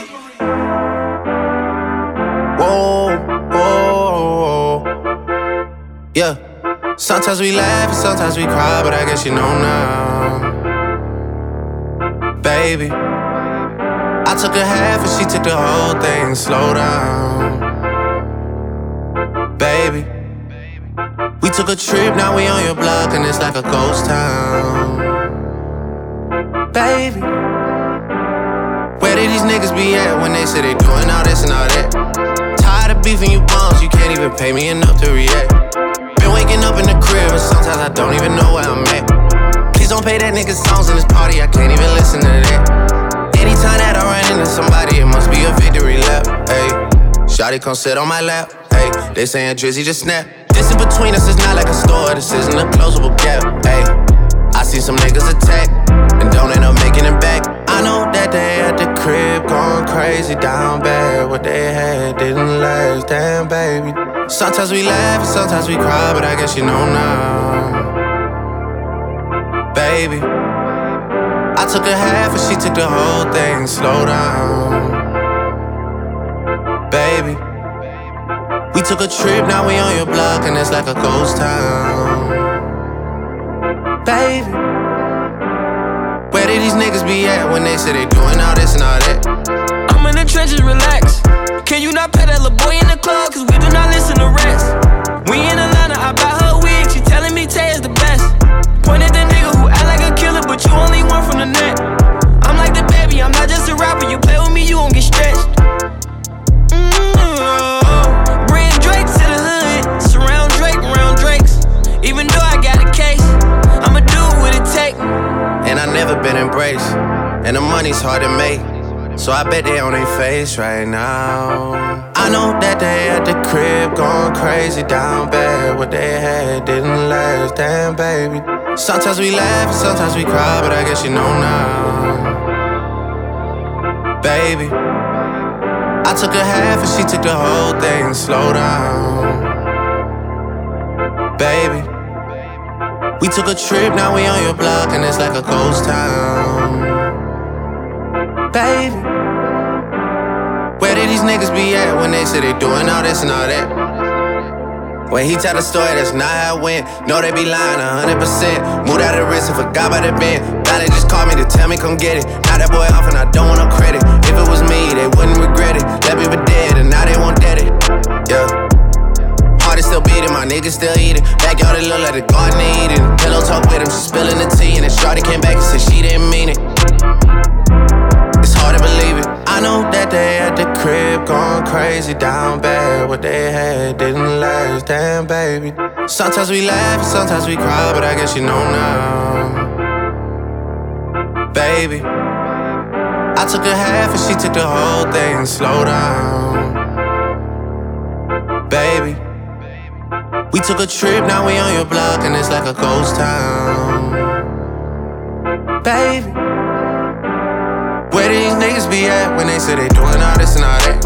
Whoa, whoa, yeah. Sometimes we laugh and sometimes we cry, but I guess you know now, baby. I took a half and she took the whole thing. Slow down, baby. We took a trip, now we on your block and it's like a ghost town, baby. Where did these niggas be at when they say they doing all this and all that? Tired of beefing you bums, you can't even pay me enough to react. Been waking up in the crib and sometimes I don't even know where I'm at. Please don't play that nigga songs in this party, I can't even listen to that. Anytime that I run into somebody, it must be a victory lap. Ayy, shawty come sit on my lap. Ayy, they saying Drizzy just snap. This in between us is not like a store, this isn't a closable gap. Ayy, I see some niggas attack and don't end up making it back. I know that they at the crib going crazy down bad. What they had didn't last, damn baby. Sometimes we laugh and sometimes we cry, but I guess you know now, baby. I took a half and she took the whole thing. Slow down, baby. We took a trip, now we on your block and it's like a ghost town, baby. Where did these niggas be at when they say they doing all this and all that? I'm in the trenches, relax. Can you not pay that little boy in the club? Cause we do not listen to rest. We in Atlanta, I buy her wig. She telling me Tay is the best. Point at the nigga who act like a killer, but you only one from the net. I'm like the baby, I'm not just a rapper. You play with me, you gon' get stretched. Mm-hmm. Bring Drake to the hood. Surround Drake, round Drakes. Even though I got a case, I'ma do what it take. And I never been embraced, and the money's hard to make, so I bet they on their face right now. I know that they at the crib going crazy down bad. What they had didn't last, damn baby. Sometimes we laugh and sometimes we cry, but I guess you know now. Baby, I took a half and she took the whole thing. Slow down. Baby, we took a trip, now we on your block and it's like a ghost town. Baby, where did these niggas be at when they say they doing all this and all that? When he tell the story, that's not how it went. No, they be lying a hundred percent. Moved out of the wrist and forgot about the bend. Now they just called me to tell me come get it. Now that boy off and I don't want no credit. If it was me, they wouldn't regret it. Left me for dead and now they won't dead it. Yeah. Heart is still beating, my niggas still eating. Backyard it look like the garden they eating. Pillow talk with him, she spilling the tea. And then shorty came back and said she didn't mean it. It's hard to believe it. I know that they at the crib going crazy down bad. What they had didn't last, damn baby. Sometimes we laugh, sometimes we cry, but I guess you know now. Baby, I took a half and she took the whole thing. Slow down. Baby, we took a trip, now we on your block and it's like a ghost town. Baby, where do these niggas be at when they say they doing all this and all that?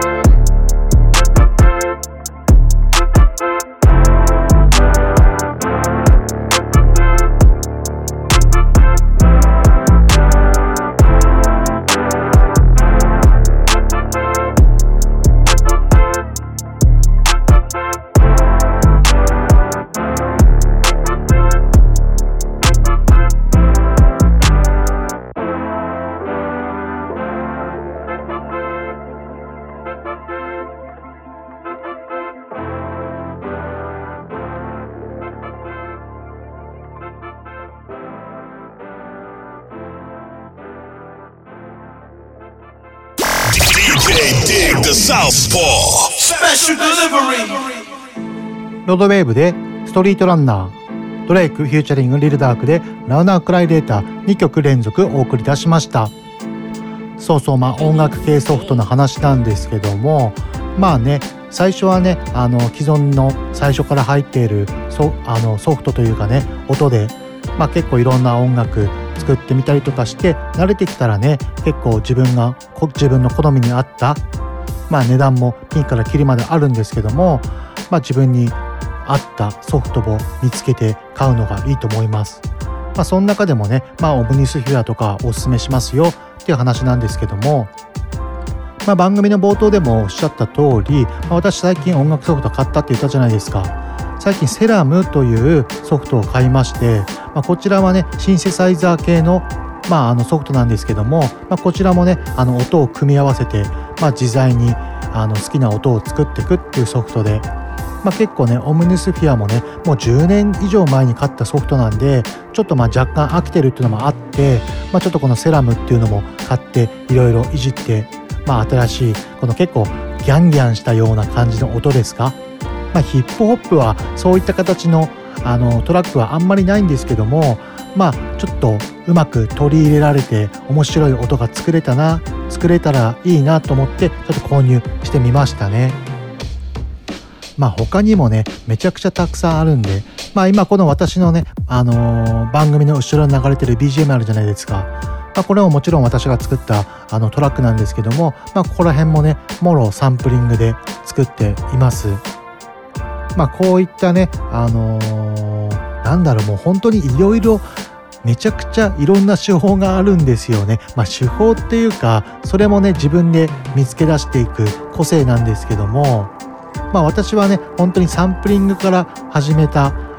Dig the Southpaw Special Delivery ロードウェーブでストリートランナー、ドレイクフューチャリングリルダークでラウナークライレーターにきょく連続お送り出しました。そうそう、まあ音楽系ソフトの話なんですけども、まあね、最初はね、あの既存の最初から入っている ソ, あのソフトというかね、音で、まあ、結構いろんな音楽作ってみたりとかして慣れてきたらね、結構自分が自分の好みに合った、まあ値段もピンからキリまであるんですけども、まあ自分に合ったソフトを見つけて買うのがいいと思います。まあその中でもね、まあオムニスフィアとかおすすめしますよっていう話なんですけども、まあ番組の冒頭でもおっしゃった通り、まあ、私最近音楽ソフト買ったって言ったじゃないですか。最近セラムというソフトを買いまして、まあ、こちらはねシンセサイザー系の、まあ、あのソフトなんですけども、まあ、こちらもねあの音を組み合わせて、まあ、自在にあの好きな音を作っていくっていうソフトで、まあ、結構ねオムニスフィアもねもうじゅうねん以上前に買ったソフトなんで、ちょっとまあ若干飽きてるっていうのもあって、まあ、ちょっとこのセラムっていうのも買っていろいろいじって、まあ、新しいこの結構ギャンギャンしたような感じの音ですか。まあ、ヒップホップはそういった形の、あのトラックはあんまりないんですけども、まあちょっとうまく取り入れられて面白い音が作れたな作れたらいいなと思ってちょっと購入してみましたね。まあ他にもねめちゃくちゃたくさんあるんで、まあ今この私のね、あのー、番組の後ろに流れてる ビージーエム あるじゃないですか。まあ、これももちろん私が作ったあのトラックなんですけども、まあここら辺もねもろサンプリングで作っています。まあこういったね、あのー、なんだろう、もう本当にいろいろめちゃくちゃいろんな手法があるんですよね。まあ手法っていうかそれもね自分で見つけ出していく個性なんですけども、まあ私はね本当にサンプリングから始めた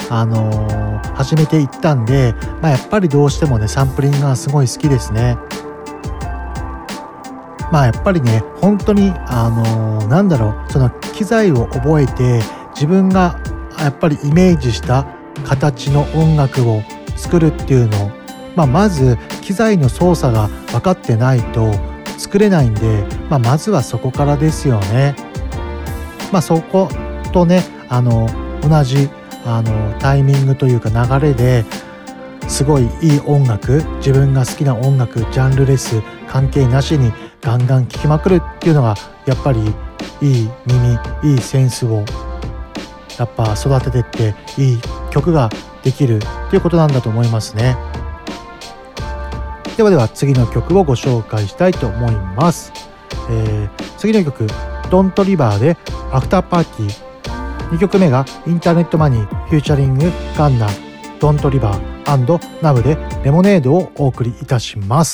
あのー、始めていったんで、まあ、やっぱりどうしてもねサンプリングがすごい好きですね。まあやっぱりね本当にあのー、なんだろうその機材を覚えて自分がやっぱりイメージした形の音楽を作るっていうのを、まあ、まず機材の操作が分かってないと作れないんで、まあ、まずはそこからですよね。まあそことねあの同じあのタイミングというか流れですごいいい音楽、自分が好きな音楽ジャンルレス関係なしにガンガン聴きまくるっていうのがやっぱりいい耳いいセンスをやっぱ育ててっていい曲ができるっていうことなんだと思いますね。ではでは次の曲をご紹介したいと思います。えー、次の曲ドントリバーでアフターパーティー、にきょくめがインターネットマニーフューチャリングガンナドントリバー&ナブでレモネードをお送りいたします。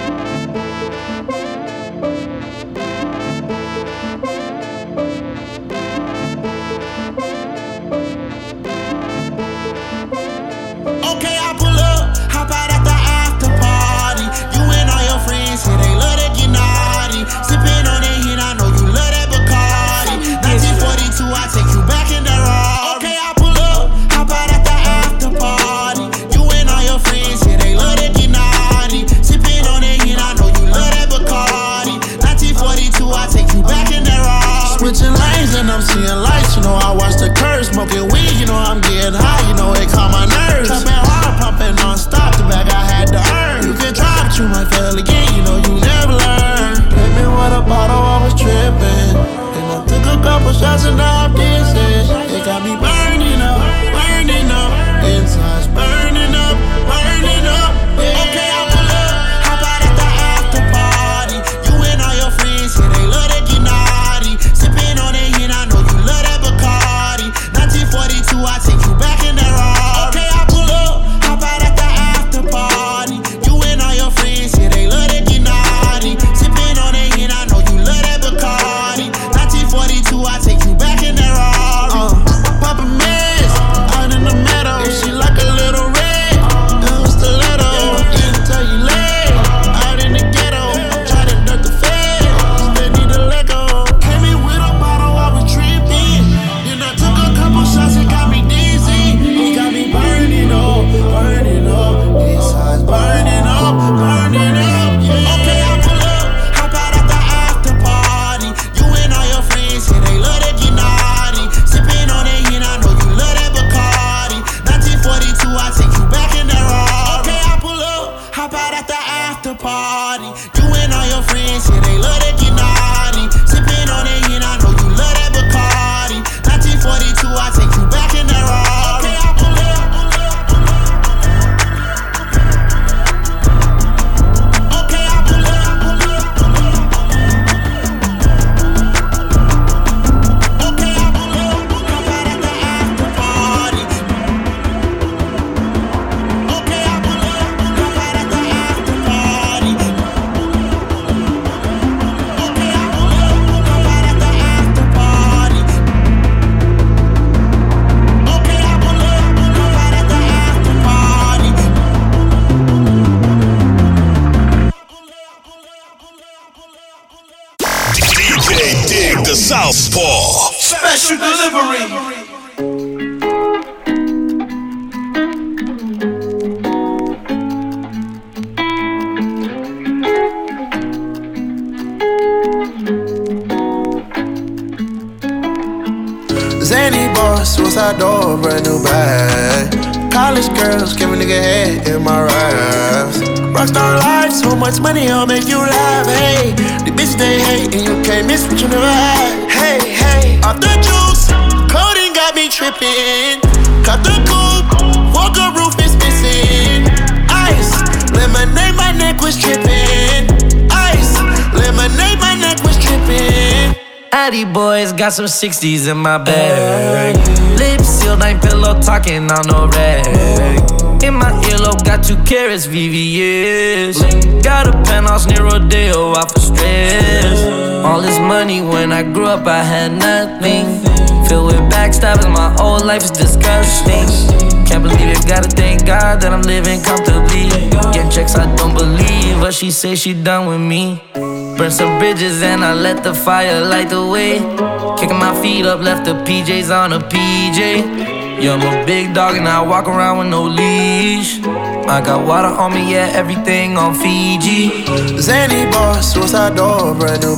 Southpaw Special Delivery. Zany boss, suicide door, brand new bag. College girls, give a nigga head in my raps. Rockstar life, so much money, I'll make you laugh. Hey, the bitch they hate, and you can't miss what you never had. Hey, hey, off the juice, codeine got me tripping. Cut the coupe, walker roof is missing. Ice, lemonade, my neck was tripping. Ice, lemonade, my neck was tripping. Addy boys got some sixties in my bag. Lips sealed, ain't pillow talking on no rag. In my earlobe, got two carats, V V S. Got a penthouse near Rodeo, out for stress. All this money when I grew up I had nothing. Filled with backstabbing, my whole life is disgusting. Can't believe it, gotta thank God that I'm living comfortably. Getting checks I don't believe, but she say she done with me. Burn some bridges and I let the fire light the way. Kicking my feet up, left the P Js on a P J. Yeah, I'm a big dog and I walk around with no leash. I got water on me, yeah, everything on Fiji. Zany boss, suicide door, brand new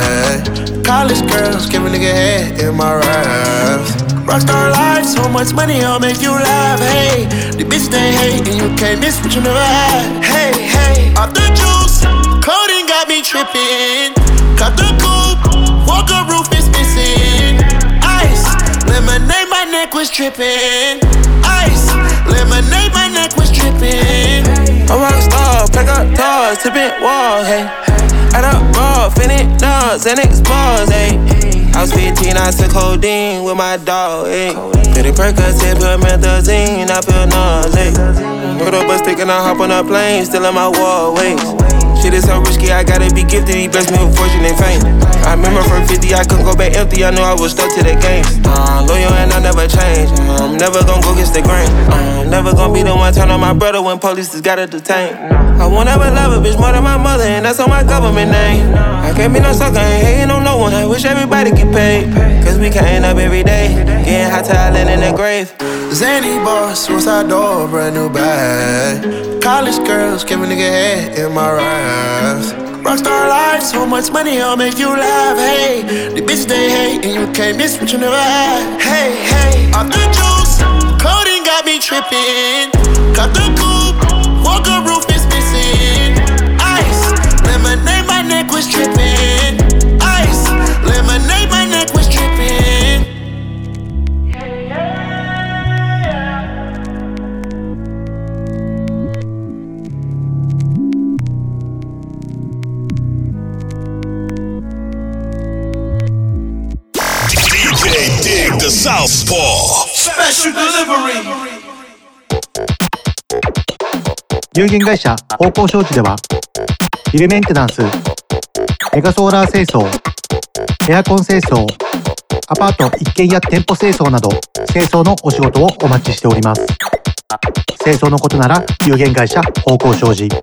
bag. College girls, give a nigga head in my raps. Rockstar life, so much money, I'll make you laugh. Hey, the bitch they hate and you can't miss what you never had. Hey, hey, off the juice, coding got me tripping. Cut the coupe, Walker roof is missing. Ice, lemonade, my neck was dripping. Ice, lemonade, my neck was dripping. A rockstar, pack up doors, tipping walls, hey. Add up raw, finish nuts, and expose, hey. I was fifteen, I took codeine with my dog, ayy. Pretty Percocet, put methazine, I feel nauseous. Put up a stick and I hop on a plane, still in my wallways. Shit is so risky, I gotta be gifted, he blessed me with fortune and fame. I remember from fifty, I couldn't go back empty, I knew I was stuck to the game. Uh, loyal and I never change, I'm never gonna go against the grain. I'm never gonna be the one turn on my brother when police just gotta detain. I won't ever love a bitch more than my mother, and that's on my government name. I can't be no sucker, ain't hating on no one, I wish everybody get paid. Cause we counting up every day, getting hot talent in the grave. Zany boss, suicide door, brand new bag. College girls, give a nigga head in my raps. Rockstar life, so much money, I'll make you laugh. Hey, the bitch they hate and you can't miss what you never had. Hey, hey, off the juice, coding got me tripping. Cut the coupe, Walker roof is missing. Ice, lemonade, my neck was dripping. Ice, lemonade, my neck was dripping. Dig the Southpaw Special Delivery。 有限会社方向商事ではビルメンテナンス、メガソーラー清掃、エアコン清掃、アパート一軒や店舗清掃など清掃のお仕事をお待ちしております。清掃のことなら有限会社方向商事。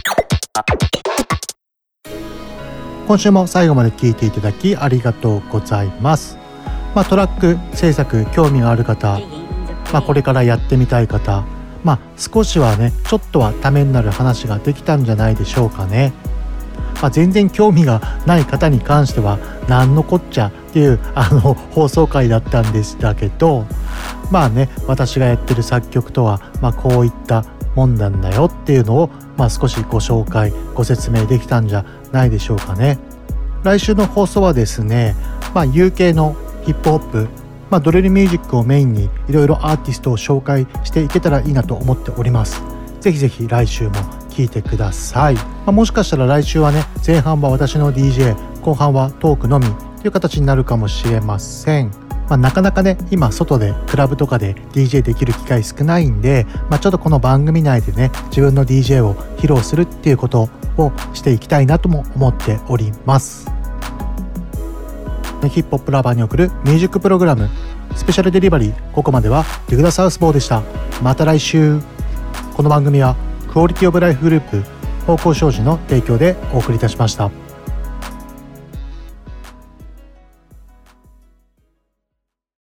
今週も最後まで聞いていただきありがとうございます。まあ、トラック制作興味がある方、まあ、これからやってみたい方、まあ、少しはねちょっとはためになる話ができたんじゃないでしょうかね。まあ、全然興味がない方に関してはなんのこっちゃっていうあの放送回だったんでしたけど、まあね私がやってる作曲とは、まあ、こういったもんなんだよっていうのを、まあ、少しご紹介ご説明できたんじゃないでしょうかね。来週の放送はですね、まあ、ユーケー のヒップホップ、まあ、ドリルミュージックをメインにいろいろアーティストを紹介していけたらいいなと思っております。ぜひぜひ来週も聞いてください。まあ、もしかしたら来週はね前半は私の ディージェー 後半はトークのみという形になるかもしれません。まあ、なかなかね今外でクラブとかで ディージェー できる機会少ないんで、まあ、ちょっとこの番組内でね自分の ディージェー を披露するっていうことをしていきたいなとも思っております。ヒップホップラバーに送るミュージックプログラムスペシャルデリバリー、ここまではディグダサウスポーでした。また来週。この番組はクオリティオブライフグループ方向商事の提供でお送りいたしました。